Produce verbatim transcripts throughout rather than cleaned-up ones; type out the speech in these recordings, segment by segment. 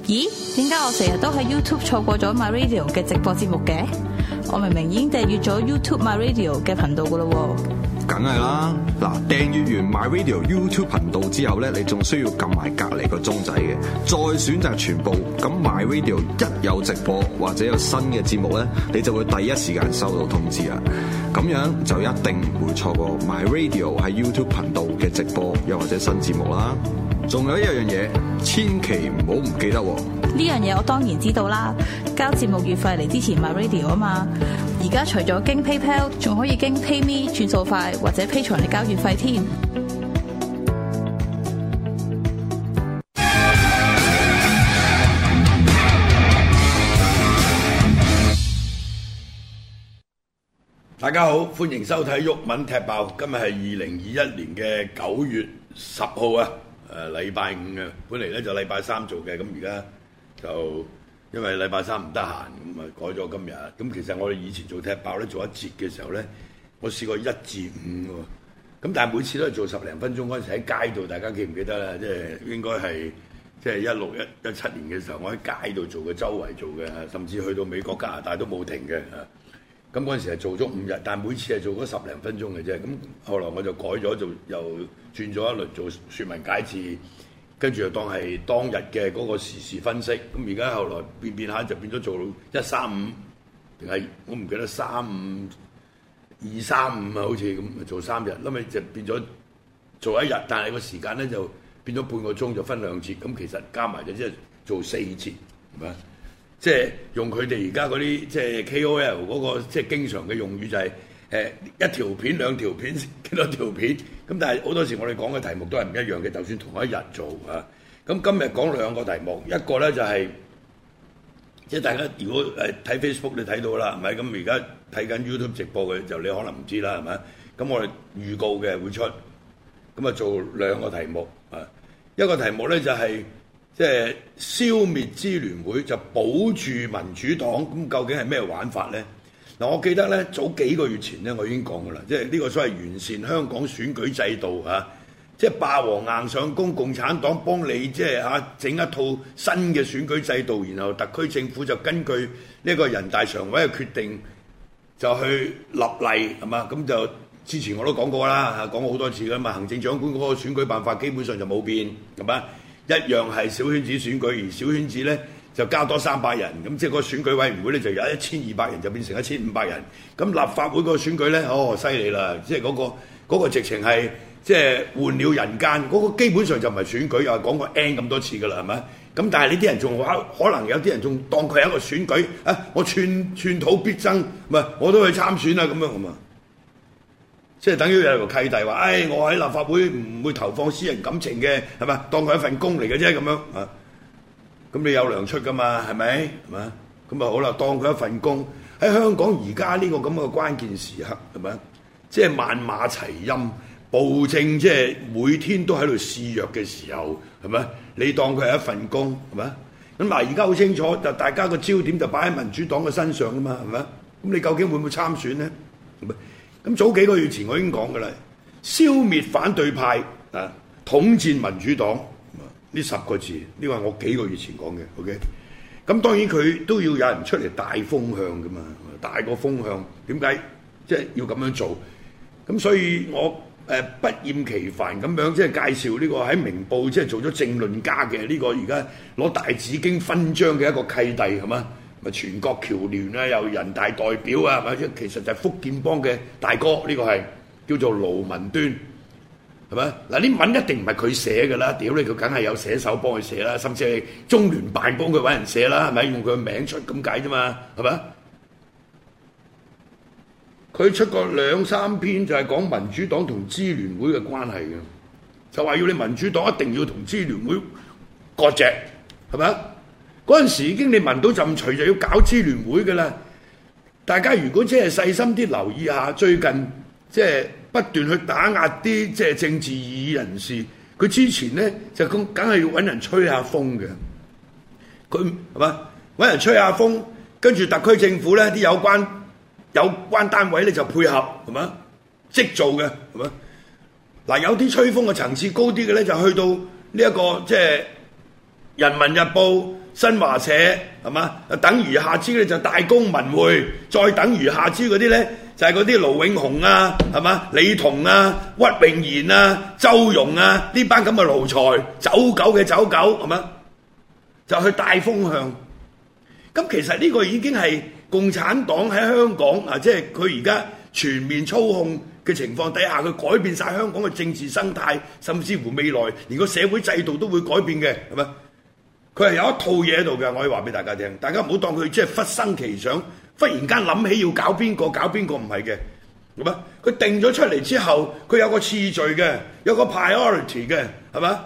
咦？點解我成日都喺 YouTube 錯過咗 My Radio 嘅直播節目嘅？我明明已經訂閱咗 YouTube My Radio 嘅頻道噶啦喎。 梗係啦，嗱，訂閱完 My Radio YouTube 頻道之後咧，你仲需要撳埋隔離個鐘仔嘅，再選擇全部。咁 My Radio 一有直播或者有新嘅節目咧，你就會第一時間收到通知啦。咁樣就一定唔會錯過 My Radio 喺 YouTube 頻道嘅直播又或者新節目啦。仲有一樣嘢，千祈唔好唔記得喎。 呢樣嘢我當然知道啦，交節目月費嚟支持 My Radio 啊嘛。而家除咗經 PayPal， 仲可以經 PayMe 轉數快或者 Patreon 嚟交月費添。 大家好，歡迎收睇毓民踢爆。今日係二零二一年嘅九月十號啊，誒禮拜五啊。本嚟咧就禮拜三做嘅，咁而家就因為禮拜三唔得閒，咁啊改咗今日。咁其實我哋以前做踢爆咧，做一節嘅時候咧，我試過一至五喎。咁但係每次都係做十零分鐘，嗰陣時喺街度，大家記唔記得啦？即係應該係即係一六一一七年嘅時候，我喺街度做嘅，周圍做嘅，甚至去到美國加拿大都冇停嘅。咁嗰陣時係做咗五日，但係每次係做咗十零分鐘嘅啫。咁後來我就改咗，做又轉咗一輪做説文解字，跟住就當係當日嘅嗰個時事分析。咁而家後來變變下就變咗做一三五，定係我唔記得三五二三五啊，好似咁做三日，後尾就變咗做一日，但係個時間咧就變咗半個鐘，就分兩節。咁其實加埋就即係做四節，係咪？即係用佢哋而家嗰啲即係 K O L 嗰個即係經常嘅用語就係誒一條片兩條片幾多條片，咁但係好多時我哋講嘅題目都係唔一樣嘅，就算同一日做啊。咁今日講兩個題目，一個咧就係即係大家如果誒睇 Facebook 你睇到啦，係咪？咁而家睇緊 YouTube 直播嘅就你可能唔知啦，係咪？咁我哋預告嘅會出，咁啊做兩個題目啊，一個題目咧就係、是。即係消滅支聯會就保住民主黨，咁究竟係咩玩法呢？嗱，我記得呢，早幾個月前呢，我已經講過啦，即係呢個所謂完善香港選舉制度嚇，即係霸王硬上弓，共產黨幫你即係嚇整一套新嘅選舉制度，然後特區政府就根據呢個人大常委嘅決定就去立例係嘛？咁就之前我都講過啦，講過好多次㗎嘛，行政長官嗰個選舉辦法基本上就冇變係嘛？一樣係小圈子選舉，而小圈子咧就加多三百人，咁即係個選舉委員會咧就由一千二百人就變成一千五百人。咁立法會個選舉咧，哦犀利啦！即係嗰個嗰個直情係即係換了人間，嗰個基本上就唔係選舉，又係講過 N 咁多次㗎啦，係咪？咁但係呢啲人仲話，可能有啲人仲當佢係一個選舉啊！我寸寸土必爭，唔係我都去參選啦咁樣咁啊！即係等於有個契弟話，誒、哎，我喺立法會唔會投放私人感情嘅，係咪？當佢一份工嚟嘅啫，咁樣啊。咁你有糧出㗎嘛？係咪？係嘛？咁啊好啦，當佢一份工喺香港而家呢個咁嘅關鍵時刻，係咪？即係萬馬齊喑，暴政即係每天都喺度肆虐嘅時候，係咪？你當佢係一份工，係咪？咁嗱，而家好清楚，就大家個焦點就擺喺民主黨嘅身上㗎嘛，係咪？咁你究竟會唔會參選呢？係咪？咁早幾個月前我已經講㗎啦，消滅反對派啊，統戰民主黨呢十個字，呢個係我幾個月前講嘅。OK，咁當然佢都要有人出嚟帶風向㗎嘛，帶個風向點解即係要咁樣做？咁所以我誒、呃、不厭其煩咁樣即係介紹呢個喺明報即係做咗政論家嘅呢個而家攞大紫荊勳章嘅一個契弟係嘛？咪全國僑聯啊，又人大代表啊，係咪？其實就係福建幫嘅大哥，呢、這個係叫做盧文端，係咪？嗱，啲文一定唔係佢寫㗎啦，屌你，佢梗係有寫手幫佢寫啦，甚至係中聯辦幫佢揾人寫啦，係咪？用佢嘅名出咁解啫嘛，係咪？佢出過兩三篇就係講民主黨同支聯會嘅關係嘅，就話要你民主黨一定要同支聯會割席，係咪？嗰陣時已經你聞到陣除就要搞支聯會嘅啦。大家如果即係細心啲留意下，最近即係不斷去打壓啲即係政治異議人士，佢之前咧就咁梗係要揾人吹下風嘅。佢係嘛揾人吹下風，跟住特區政府咧啲有關有關單位咧就配合係嘛即做嘅係嘛。嗱，有啲吹風嘅層次高啲嘅咧就去到呢一個即係《人民日報》。 新華社係嘛？等餘下之咧就大公文匯，再等餘下之嗰啲咧就係嗰啲盧永雄啊，係嘛？李彤啊、屈穎妍啊、周融啊呢班咁嘅奴才，走狗嘅走狗係嘛？就去帶風向。咁其實呢個已經係共產黨喺香港啊，即係佢而家全面操控嘅情況底下，佢改變晒香港嘅政治生態，甚至乎未來連個社會制度都會改變嘅，係咪？佢係有一套嘢喺度嘅，我可以話俾大家聽。大家唔好當佢即係忽生奇想，忽然間諗起要搞邊個搞邊個，唔係嘅，係咪？佢定咗出嚟之後，佢有個次序嘅，有個 priority 嘅，係咪？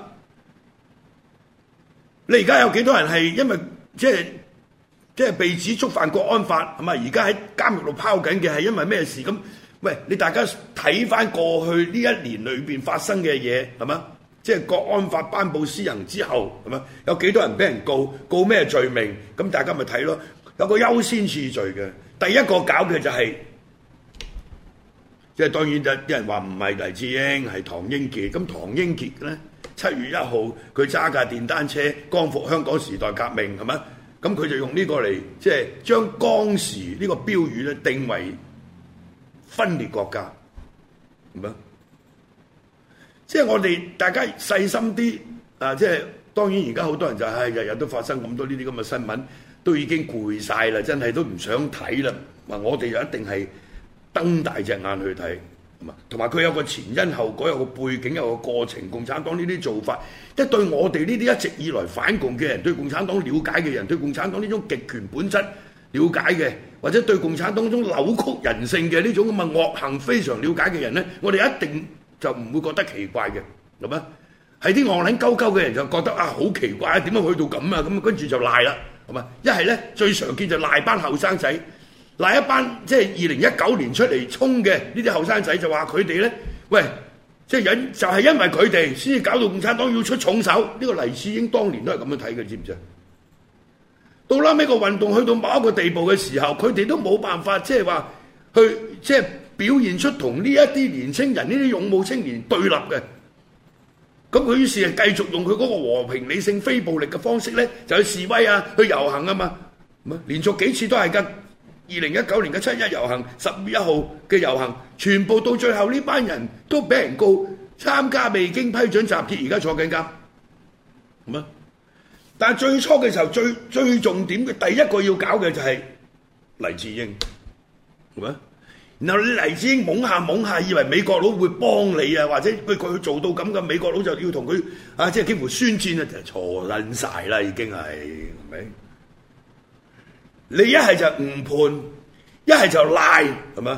你而家有幾多人係因為即係即係被指觸犯國安法，係咪？而家喺監獄度拋緊嘅係因為咩事咁？喂，你大家睇翻過去呢一年裏邊發生嘅嘢，係嘛？即係國安法頒布施行之後，係嘛？有幾多人俾人告？告咩罪名？咁大家咪睇咯。有個優先次序嘅，第一個搞嘅就係，即係當然就啲人話唔係黎智英，係唐英傑。咁唐英傑咧，七月一號佢揸架電單車光復香港時代革命，係嘛？咁佢就用呢個嚟，即係將當時呢個標語咧定為分裂國家，係咪？即係我哋大家細心啲啊！即係當然而家好多人就係日日都發生咁多呢啲咁嘅新聞，都已經攰晒啦，真係都唔想睇啦。話我哋就一定係瞪大隻眼去睇，係嘛？同埋佢有個前因後果，有個背景，有個過程。共產黨呢啲做法，即係對我哋呢啲一直以來反共嘅人，對共產黨了解嘅人，對共產黨呢種極權本質了解嘅，或者對共產黨中扭曲人性嘅呢種咁嘅惡行非常了解嘅人咧，我哋一定就唔會覺得奇怪嘅，係咪？係啲戇撚鳩鳩嘅人就覺得啊好奇怪啊，點樣去到咁啊？咁跟住就賴啦，係咪？一係咧最常見就賴班後生仔，賴一班即係二零一九年出嚟衝嘅呢啲後生仔，就話佢哋咧，喂，即係因就係因為佢哋先至搞到共產黨要出重手。呢個黎智英當年都係咁樣睇嘅，知唔知啊？到拉尾個運動去到某一個地步嘅時候，佢哋都冇辦法即係話去即係表現出同呢一啲年青人、呢啲勇武青年對立嘅。咁佢於是係繼續用佢嗰個和平理性非暴力嘅方式咧，就去示威啊，去遊行啊嘛。咁啊，連續幾次都係㗎。二零一九年嘅七一遊行、十月一號嘅遊行，全部到最後呢班人都俾人告參加未經批准集結，而家坐緊監。咁啊！但係最初嘅時候，最最重點嘅第一個要搞嘅就係黎智英，係咪？然後你黎智英懵下懵下，以為美國佬會幫你啊，或者佢佢做到咁嘅，美國佬就要同佢啊，即係幾乎宣戰啊，就錯撚晒啦，已經係係咪？你一係就誤判，一係就賴，係咪？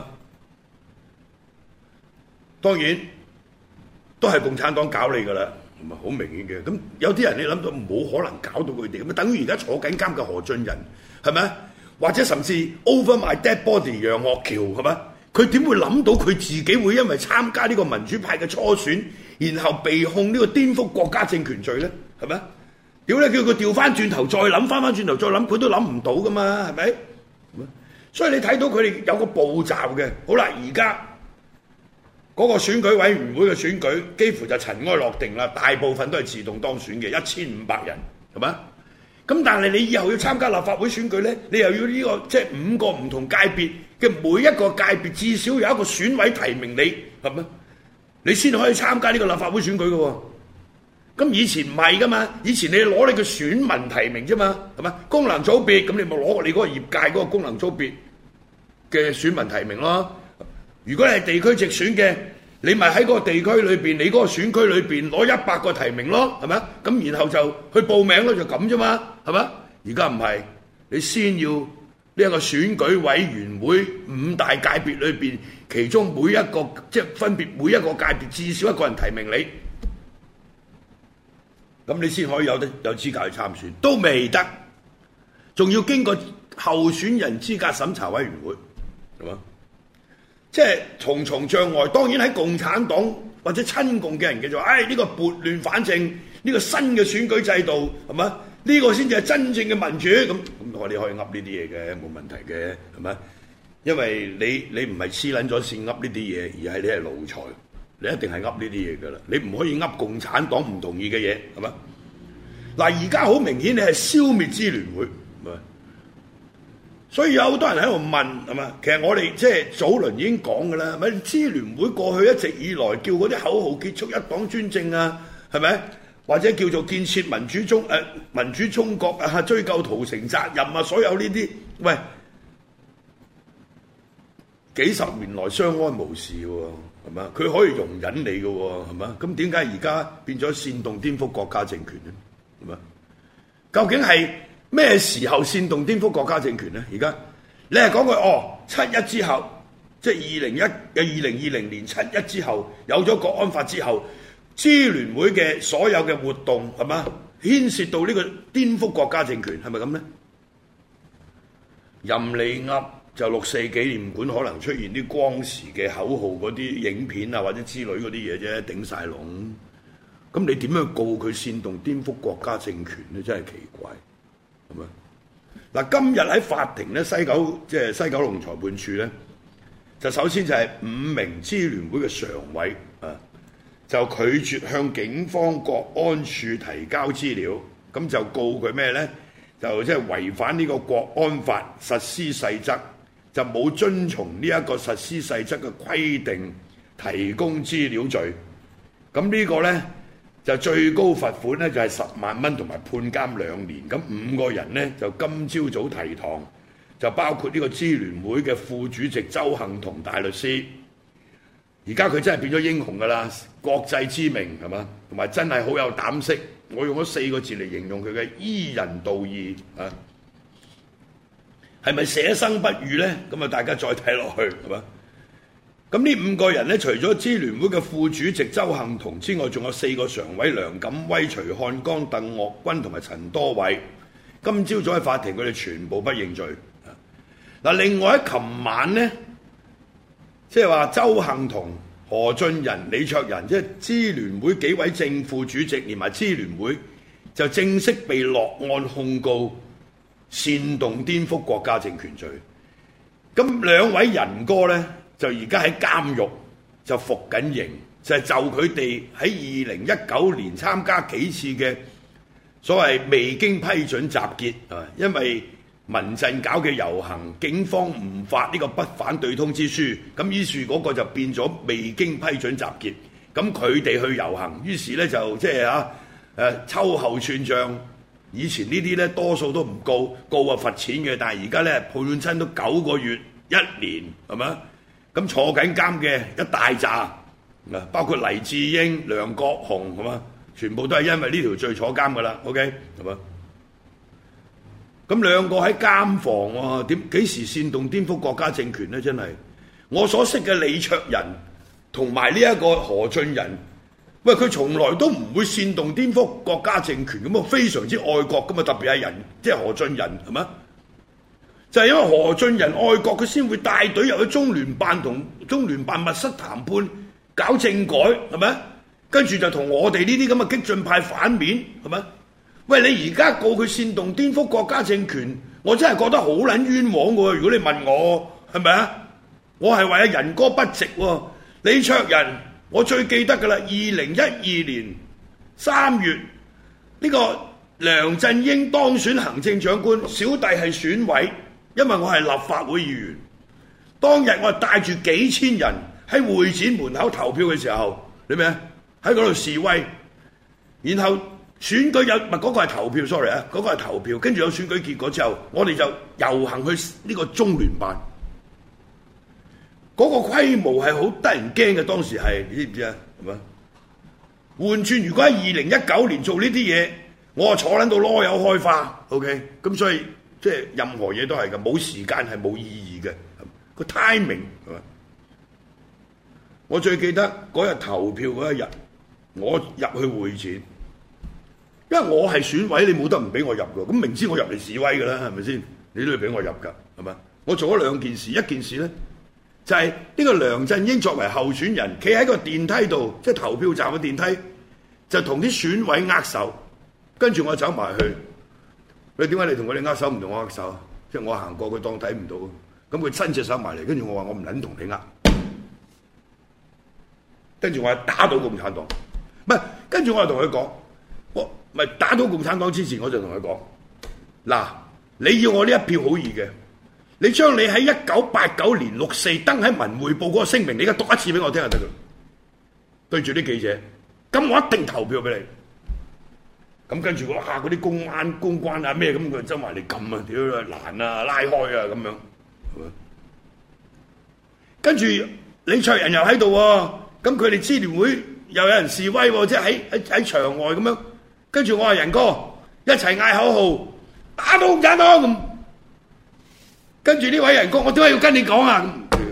當然都係共產黨搞你㗎啦。唔係好明顯嘅，咁有啲人你諗到冇可能搞到佢哋，咁啊等於而家坐緊監嘅何俊仁，係咪？或者甚至 Over My Dead Body 楊岳橋，係咪？佢點會諗到佢自己會因為參加呢個民主派嘅初選，然後被控呢個顛覆國家政權罪咧？係咪？屌你，叫佢調翻轉頭再諗，翻翻轉頭再諗，佢都諗唔到噶嘛？係咪？所以你睇到佢哋有個步驟嘅。好啦，而家嗰個選舉委員會嘅選舉幾乎就塵埃落定啦，大部分都係自動當選嘅，一千五百人，係咪？咁但係你以後要參加立法會選舉咧，你又要呢個即係五個唔同界別嘅每一個界別至少有一個選委提名你，係咪？你先可以參加呢個立法會選舉嘅喎。咁以前唔係噶嘛，以前你攞你嘅選民提名啫嘛，係咪？功能組別咁你咪攞你嗰個業界嗰個功能組別嘅選民提名咯。如果你係地區直選嘅，你咪喺嗰個地區裏邊，你嗰個選區裏邊攞一百個提名咯，係咪？咁然後就去報名咯，就咁啫嘛，係咪？而家唔係，你先要呢一個選舉委員會五大界別裏邊，其中每一個即係分別每一個界別至少一個人提名你，咁你先可以有得有資格去參選，都未得，仲要經過候選人資格審查委員會，係嘛？即係重重障礙。當然喺共產黨或者親共嘅人嘅就話，唉，呢個撥亂反正，呢個新嘅選舉制度係嘛？呢個先至係真正嘅民主。咁咁我哋可以噏呢啲嘢嘅，冇問題嘅，係咪？因為你你唔係黐撚咗線噏呢啲嘢，而係你係奴才，你一定係噏呢啲嘢㗎啦。你唔可以噏共產黨唔同意嘅嘢，係嘛？ 嗱，而家好明顯你係消滅支聯會，所以有好多人喺度問係嘛？其實我哋即係早輪已經講㗎啦，咪支聯會過去一直以來叫嗰啲口號結束一黨專政啊，係咪？或者叫做建設民主中誒、呃、民主中國啊，追究屠城責任啊，所有呢啲，喂，幾十年來相安無事喎，係嘛？佢可以容忍你嘅喎，係嘛？咁點解而家變咗煽動顛覆國家政權咧？係嘛？究竟係咩時候煽動顛覆國家政權咧？而家你係講佢哦，七一之後，即係二零一嘅二零二零年七一之後，有咗國安法之後，支聯會嘅所有嘅活動係嘛，牽涉到呢個顛覆國家政權，係咪咁咧？任你噏就六四紀念館可能出現啲光時嘅口號嗰啲影片啊，或者之類嗰啲嘢啫，頂晒籠。咁你點樣告佢煽動顛覆國家政權咧？真係奇怪，係咪？嗱，今日喺法庭咧，西九即係西九龍裁判處咧，就首先就係五名支聯會嘅常委啊，就拒絕向警方國安處提交資料，咁就告佢咩咧？就即係違反呢個國安法實施細則，就冇遵從呢一個實施細則嘅規定提供資料罪。咁呢個咧就最高罰款咧就係十萬蚊同埋判監兩年。咁五個人咧就今朝早提堂，就包括呢個支聯會嘅副主席周幸彤大律師。而家佢真係變咗英雄㗎啦，國際知名係嘛，同埋真係好有膽識。我用咗四個字嚟形容佢嘅依人道義啊，係咪捨生不遇呢？咁啊，大家再睇落去係嘛？咁呢五個人呢，除咗支聯會嘅副主席周幸彤之外，仲有四個常委梁錦威、徐漢江、鄧岳君同埋陳多偉。今朝早喺法庭，佢哋全部不認罪。嗱，另外喺琴晚呢，即係話周幸彤、何俊仁、李卓人，即係支聯會幾位正副主席，連埋支聯會就正式被落案控告煽動顛覆國家政權罪。咁兩位仁哥呢，就而家喺監獄就服緊刑，就係就佢哋喺二零一九年參加幾次嘅所謂未經批准集結啊，因為民陣搞嘅遊行，警方唔發呢個不反對通知書，咁於是嗰個就變咗未經批准集結。咁佢哋去遊行，於是咧就即係啊誒秋後算賬。以前呢啲咧多數都唔告，告啊罰錢嘅，但係而家咧判親都九個月、一年，係咪？咁坐緊監嘅一大紮啊，包括黎智英、梁國雄，係嘛？全部都係因為呢條罪坐監㗎啦。OK， 係嘛？咁兩個喺監房喎，點幾時煽動顛覆國家政權呢？真係我所識嘅李卓人同埋呢一個何俊仁，喂，佢從來都唔會煽動顛覆國家政權咁啊，非常之愛國咁啊，特別係人即係何俊仁係嘛？就係因為何俊仁愛國，佢先會帶隊入去中聯辦同中聯辦密室談判搞政改係咪？跟住就同我哋呢啲咁嘅激進派反面係咪？喂，你而家告佢煽動顛覆國家政權，我真係覺得好撚冤枉喎！如果你問我係咪啊？我係為阿仁哥不值喎。李卓人，我最記得㗎啦，二零一二年三月呢個梁振英當選行政長官，小弟係選委，因為我係立法會議員。當日我係帶住幾千人喺會展門口投票嘅時候，你明啊？喺嗰度示威，然後選舉有唔係嗰個係投票 ，sorry 啊，嗰個係投票，跟住有選舉結果之後，我哋就遊行去呢個中聯辦。嗰、那個規模係好得人驚嘅，當時係你知唔知啊？係咪？換轉如果喺二零一九年做呢啲嘢，我啊坐撚到籮柚開花 ，OK？咁所以即係任何嘢都係嘅，冇時間係冇意義嘅，個 timing 係咪？我最記得嗰日投票嗰一日，我入去會展。因為我係選委，你冇得唔俾我入㗎。咁明知我入嚟示威㗎啦，係咪先？你都要俾我入㗎，係咪？我做咗兩件事，一件事咧就係、是、呢個梁振英作為候選人，企喺個電梯度，即係投票站嘅電梯，就同啲選委握手，跟住我走埋去。你點解你同佢哋握手唔同我握手啊？即係我行過佢當睇唔到，咁佢伸隻手埋嚟，跟住我話我唔撚同你握，跟住我係打倒共產黨，唔係，跟住我係同佢講。 咪打倒共產黨之前，我就同佢講：嗱，你要我呢一票好易嘅，你將你喺一九八九年六四登喺《文匯報》嗰個聲明，你而家讀一次俾我聽就得㗎。對住啲記者，咁我一定投票俾你。咁跟住哇，嗰啲公安公關啊咩咁，佢周埋嚟撳啊，屌攔啊，拉開啊咁樣，係咪？跟住李卓人又喺度喎，咁佢哋支聯會又有人示威喎，即係喺喺喺場外咁樣。跟住我話仁哥一齊嗌口號，打倒共產黨咁。跟住呢位仁哥，我點解要跟你講啊？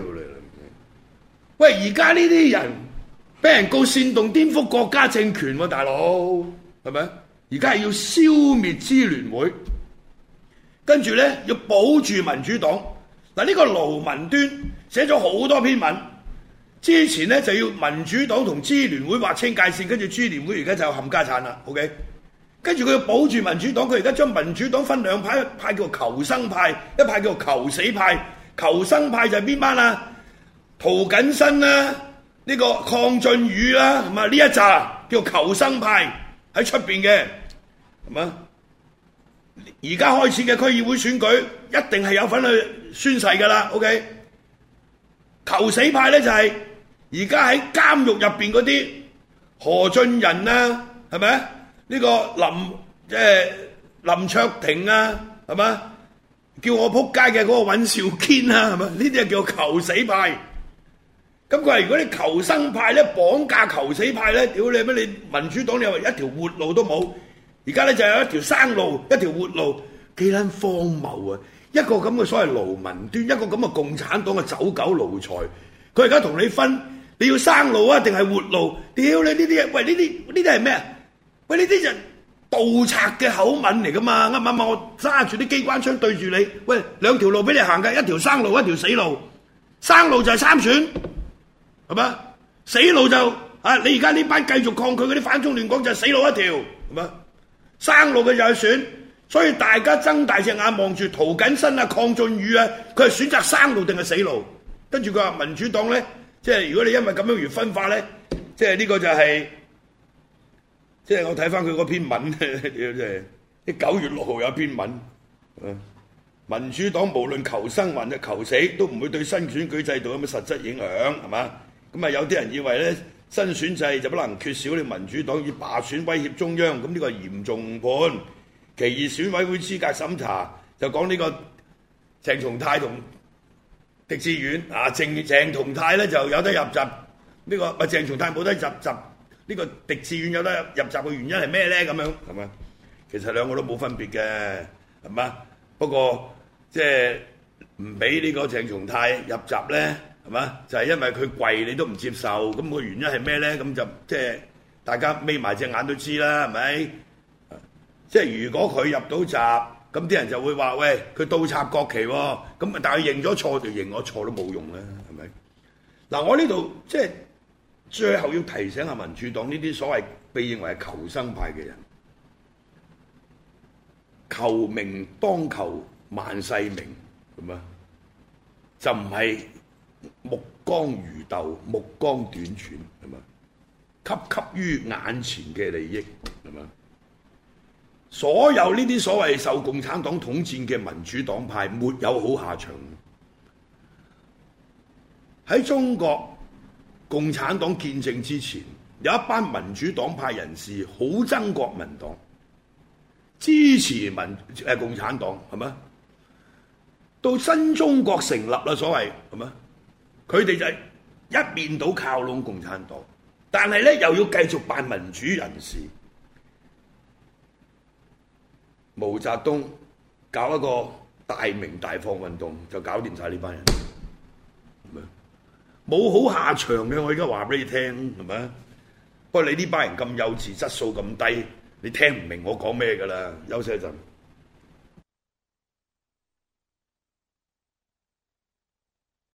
喂，而家呢啲人俾人告煽動顛覆國家政權喎、啊，大佬係咪？而家係要消滅支聯會，跟住咧要保住民主黨。嗱，呢個盧文端寫咗好多篇文，之前咧就要民主黨同支聯會劃清界線，跟住支聯會而家就冚家產啦。OK，跟住佢要保住民主黨，佢而家將民主黨分兩派，一派叫做求生派，一派叫做求死派。求生派就係邊班啊？涂謹申啦，呢個鄺俊宇啦，係嘛？呢一紮叫求生派。喺出邊嘅係嘛？而家開始嘅區議會選舉一定係有份去宣誓㗎啦。OK，求死派咧就係而家喺監獄入邊嗰啲何俊仁啊，係咪啊？呢個林即係林卓廷啊，係嘛？叫我撲街嘅嗰個尹兆堅啊，係嘛？呢啲係叫求死派。咁佢話：如果你求生派咧綁架求死派咧，屌你咩？你民主黨你話一條活路都冇，而家咧就有一條生路，一條活路，幾撚荒謬啊！一個咁嘅所謂盧文端，一個咁嘅共產黨嘅走狗奴才，佢而家同你分，你要生路啊定係活路？屌你呢啲嘢！喂，呢啲呢啲係咩啊？喂，呢啲就盜賊嘅口吻嚟噶嘛？啱唔啱啊？我揸住啲機關槍對住你，喂，兩條路俾你行㗎，一條生路，一條死路。生路就係參選。係嘛？死路就啊！你而家呢班繼續抗拒嗰啲反中亂港就係死路一條，係嘛？生路嘅就係選，所以大家睜大隻眼望住涂謹申啊、鄺俊宇啊，佢係選擇生路定係死路？跟住佢話民主黨咧，即係如果你因為咁樣而分化咧，即係呢個就係、是，即係我睇翻佢嗰篇文，即係啲九月六號有篇文，民主黨無論求生還是求死，都唔會對新選舉制度有乜實質影響，係嘛？咁啊，有啲人以為咧新選制就不能缺少你民主黨以罷選威脅中央，咁呢個係嚴重誤判。其二，選委會資格審查就講呢個鄭松泰同狄志遠啊，鄭鄭松泰咧就有得入閘，呢、這個咪鄭松泰冇得入閘，呢、這個狄志遠有得入閘嘅原因係咩咧？咁樣係嘛？其實兩個都冇分別嘅，係嘛？不過即係唔俾呢個鄭松泰入閘咧。係嘛？就係、是、因為佢貴，你都唔接受，咁、那個原因係咩咧？咁就即係大家眯埋隻眼都知啦，係咪？即係如果佢入到閘，咁啲人就會話：喂，佢倒插國旗喎、哦。咁但係認咗錯就認我錯都冇用啦，係咪？嗱，我呢度即係最後要提醒下民主黨呢啲所謂被認為係求生派嘅人，求名當求萬世名，咁啊，就唔係。目光如豆，目光短淺，係嘛？汲汲於眼前嘅利益，係嘛？所有呢啲所謂受共產黨統戰嘅民主黨派，沒有好下場。喺中國共產黨建政之前，有一班民主黨派人士好憎國民黨，支持民誒共產黨，係嘛？到新中國成立啦，所謂係嘛？佢哋就係一面倒靠攏共產黨，但係咧又要繼續扮民主人士。毛澤東搞一個大鳴大放運動，就搞掂晒呢班人，冇好下場嘅。我而家話俾你聽，係咪？不過你呢班人咁幼稚，質素咁低，你聽唔明我講咩㗎啦？休息一陣。